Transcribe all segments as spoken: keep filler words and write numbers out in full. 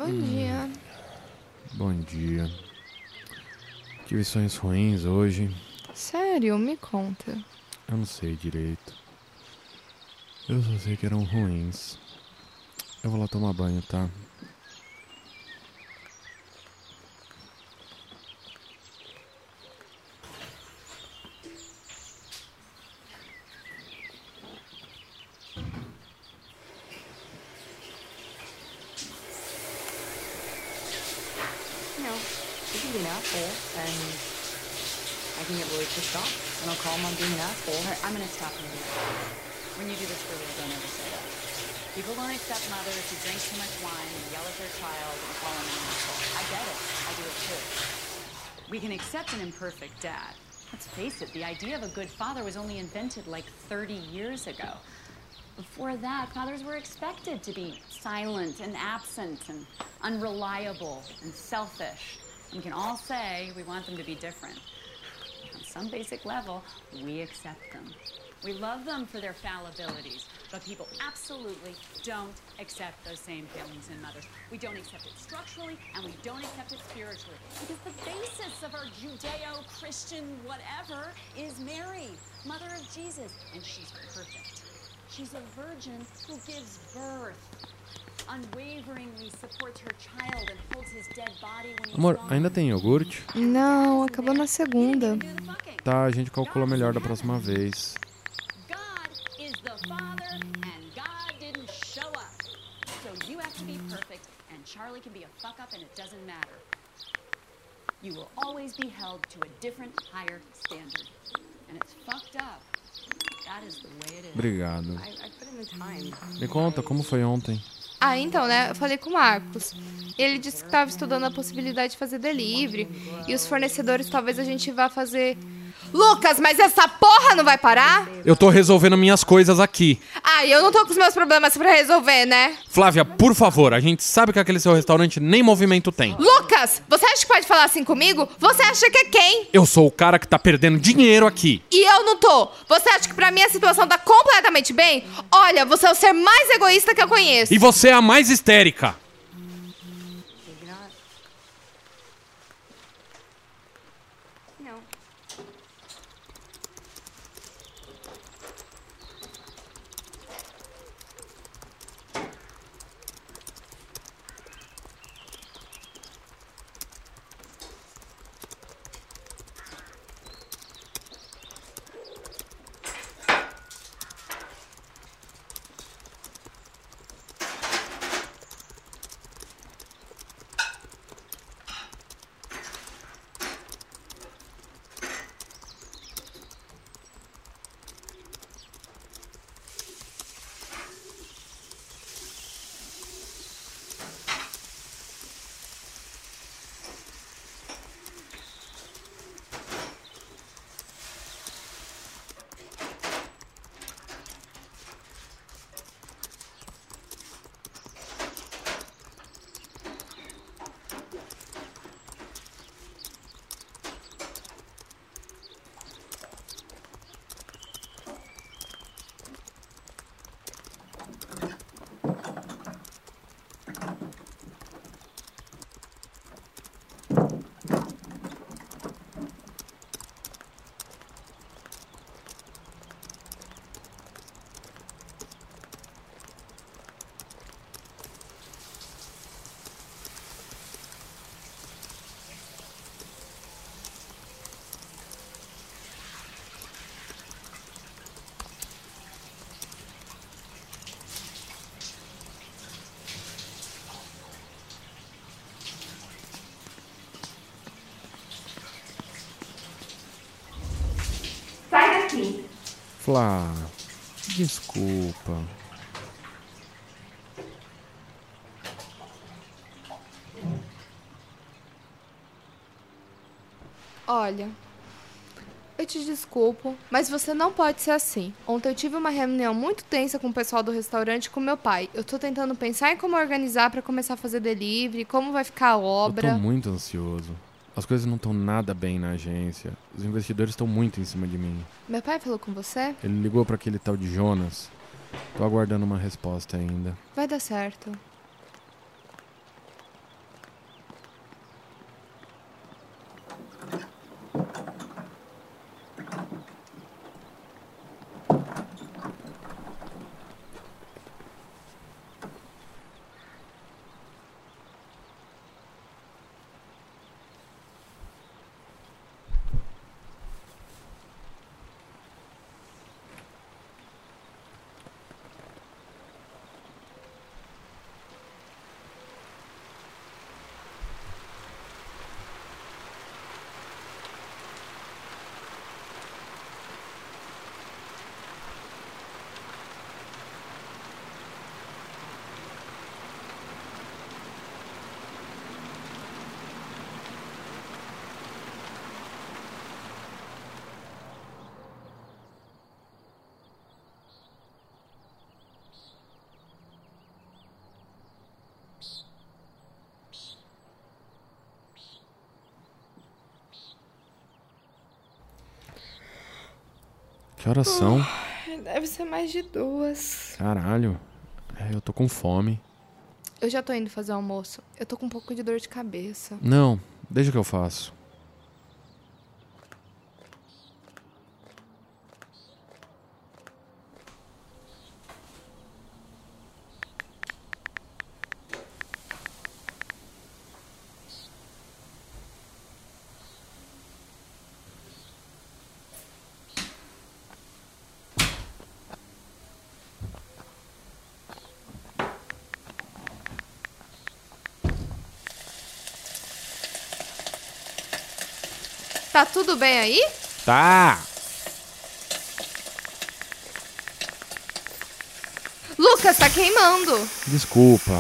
Bom dia. Bom dia. Tive sonhos ruins hoje. Sério? Me conta. Eu não sei direito. Eu só sei que eram ruins. Eu vou lá tomar banho, tá? You know, you can be an asshole, and I can get really pissed off, and I'll call him on being an asshole. All right, I'm gonna stop you here. When you do this for real, don't ever say that. People don't accept mothers who drink too much wine and yell at their child and call them an asshole. I get it. I do it too. We can accept an imperfect dad. Let's face it, the idea of a good father was only invented like thirty years ago. Before that, fathers were expected to be silent and absent and unreliable and selfish. And we can all say we want them to be different. On some basic level, we accept them. We love them for their fallibilities, but people absolutely don't accept those same failings in mothers. We don't accept it structurally, and we don't accept it spiritually. Because the basis of our Judeo-Christian whatever is Mary, mother of Jesus, and she's perfect. She's a virgin who gives birth, unwaveringly supports her child and holds his dead body when he's Amor, gone. ainda tem iogurte? Não, acabou na segunda. Tá, a gente calcula melhor da próxima vez. God is the Father, and God didn't show up. So you have to be perfect, and Charlie can be a fuck up, and it doesn't matter. You will always be held to a different, higher standard. And it's fucked up. That is the way it is. Obrigado. I, I put in the time. Me conta, como foi ontem? Ah, então, né? Eu falei com o Marcos. Ele disse que estava estudando a possibilidade de fazer delivery. E os fornecedores, talvez a gente vá fazer... Lucas, mas essa porra não vai parar? Eu tô resolvendo minhas coisas aqui. Ah, e eu não tô com os meus problemas pra resolver, né? Flávia, por favor, a gente sabe que aquele seu restaurante nem movimento tem. Lucas, você acha que pode falar assim comigo? Você acha que é quem? Eu sou o cara que tá perdendo dinheiro aqui. E eu não tô. Você acha que pra mim a situação tá completamente bem? Olha, você é o ser mais egoísta que eu conheço. E você é a mais histérica. Maybe not. You know. Sai daqui. Flá, desculpa. Olha, eu te desculpo, mas você não pode ser assim. Ontem eu tive uma reunião muito tensa com o pessoal do restaurante e com meu pai. Eu tô tentando pensar em como organizar pra começar a fazer delivery, como vai ficar a Eu obra. tô muito ansioso. As coisas não estão nada bem na agência. Os investidores estão muito em cima de mim. Meu pai falou com você? Ele ligou pra aquele tal de Jonas. Tô aguardando uma resposta ainda. Vai dar certo. Que horas são? Deve ser mais de duas. Caralho. É, eu tô com fome. Eu já tô indo fazer o almoço. Eu tô com um pouco de dor de cabeça. Não, deixa que eu faço. Tá tudo bem aí? Tá! Lucas, tá queimando. Desculpa.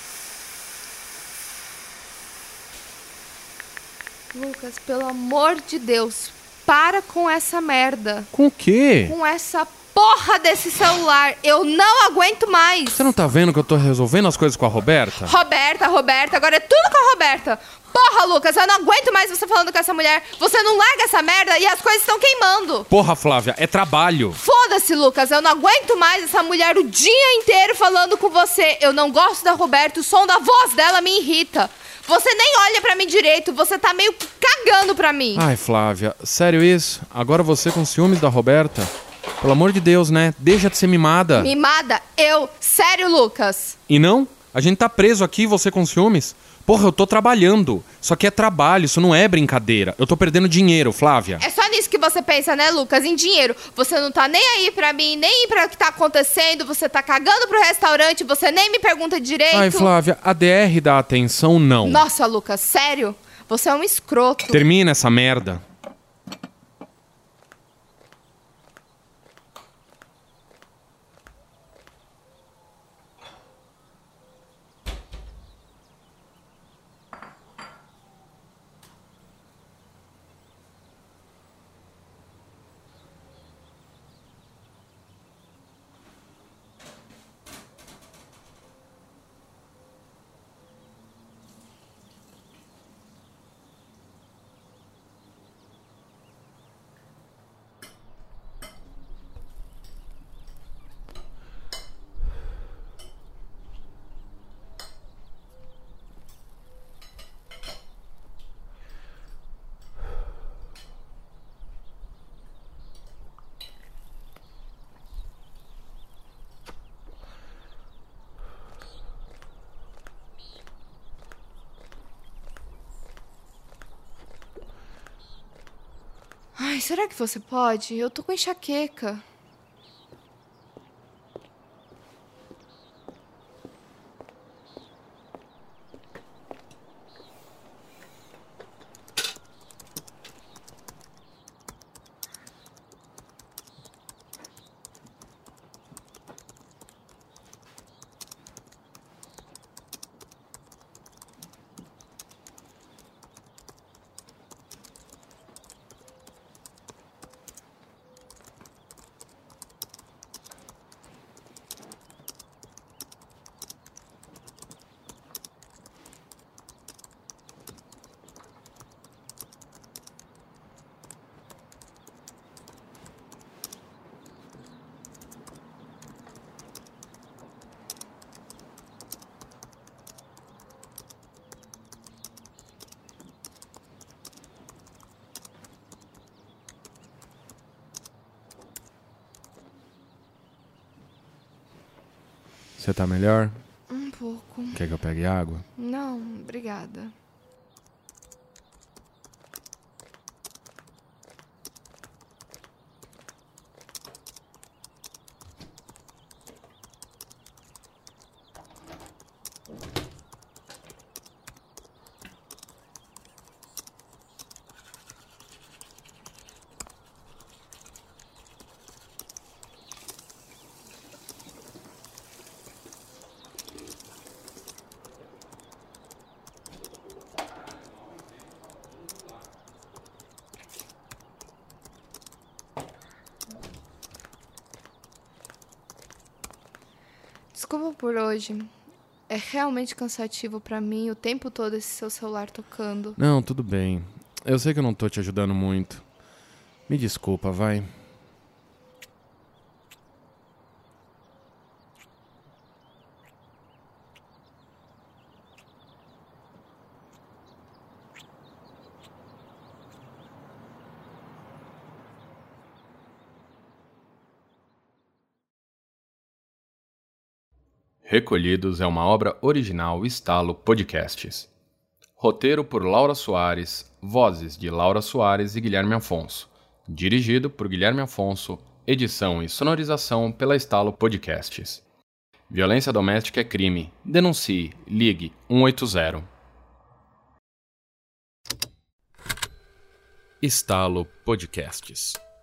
Lucas, pelo amor de Deus, para com essa merda. Com o quê? Com essa porra desse celular. Eu não aguento mais. Você não tá vendo que eu tô resolvendo as coisas com a Roberta? Roberta, Roberta, agora é tudo com a Roberta. Porra, Lucas, eu não aguento mais você falando com essa mulher. Você não larga essa merda e as coisas estão queimando. Porra, Flávia, é trabalho. Foda-se, Lucas, eu não aguento mais essa mulher o dia inteiro falando com você. Eu não gosto da Roberta, o som da voz dela me irrita. Você nem olha pra mim direito, você tá meio que cagando pra mim. Ai, Flávia, sério isso? Agora você com ciúmes da Roberta? Pelo amor de Deus, né? Deixa de ser mimada. Mimada? Eu? Sério, Lucas? E não? A gente tá preso aqui, você com ciúmes? Porra, eu tô trabalhando. Isso aqui é trabalho, isso não é brincadeira. Eu tô perdendo dinheiro, Flávia. É só nisso que você pensa, né, Lucas? Em dinheiro. Você não tá nem aí pra mim, nem pra o que tá acontecendo. Você tá cagando pro restaurante, você nem me pergunta direito. Ai, Flávia, a D R dá atenção, não. Nossa, Lucas, sério? Você é um escroto. Termina essa merda. Ai, será que você pode? Eu tô com enxaqueca. Você tá melhor? Um pouco. Quer que eu pegue água? Não, obrigada. Desculpa por hoje. É realmente cansativo pra mim o tempo todo esse seu celular tocando. Não, tudo bem. Eu sei que eu não tô te ajudando muito. Me desculpa, vai. Recolhidos é uma obra original Estalo Podcasts. Roteiro por Laura Soares, vozes de Laura Soares e Guilherme Afonso. Dirigido por Guilherme Afonso, edição e sonorização pela Estalo Podcasts. Violência doméstica é crime. Denuncie. Ligue um oito zero. Estalo Podcasts.